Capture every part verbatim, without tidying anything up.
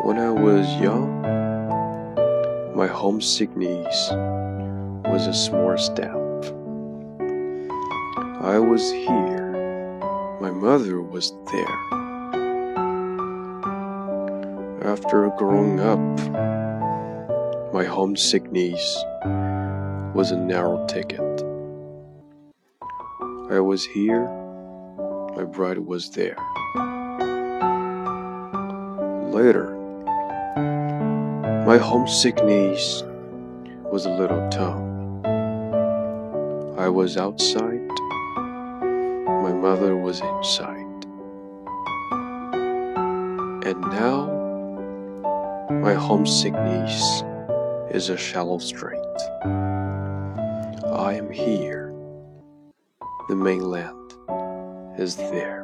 When I was young, my homesickness was a small step. I was here, my mother was there. After growing up, my homesickness was a narrow ticket. I was here, my bride was there. Later, my homesickness was a little town. I was outside, my mother was inside. And now, my homesickness is a shallow strait. I am here, the mainland is there.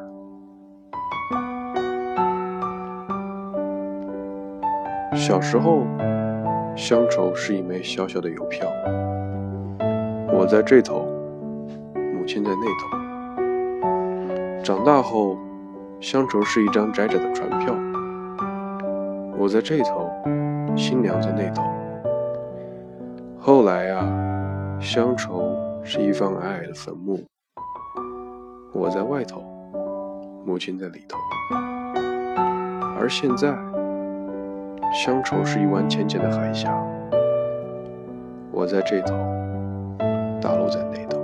小时候，乡愁是一枚小小的邮票，我在这头，母亲在那头。长大后，乡愁是一张窄窄的船票，我在这头，新娘在那头。后来啊，乡愁是一方矮矮的坟墓，我在外头，母亲在里头。而现在，乡愁是一湾浅浅的海峡，我在这头，大陆在那头。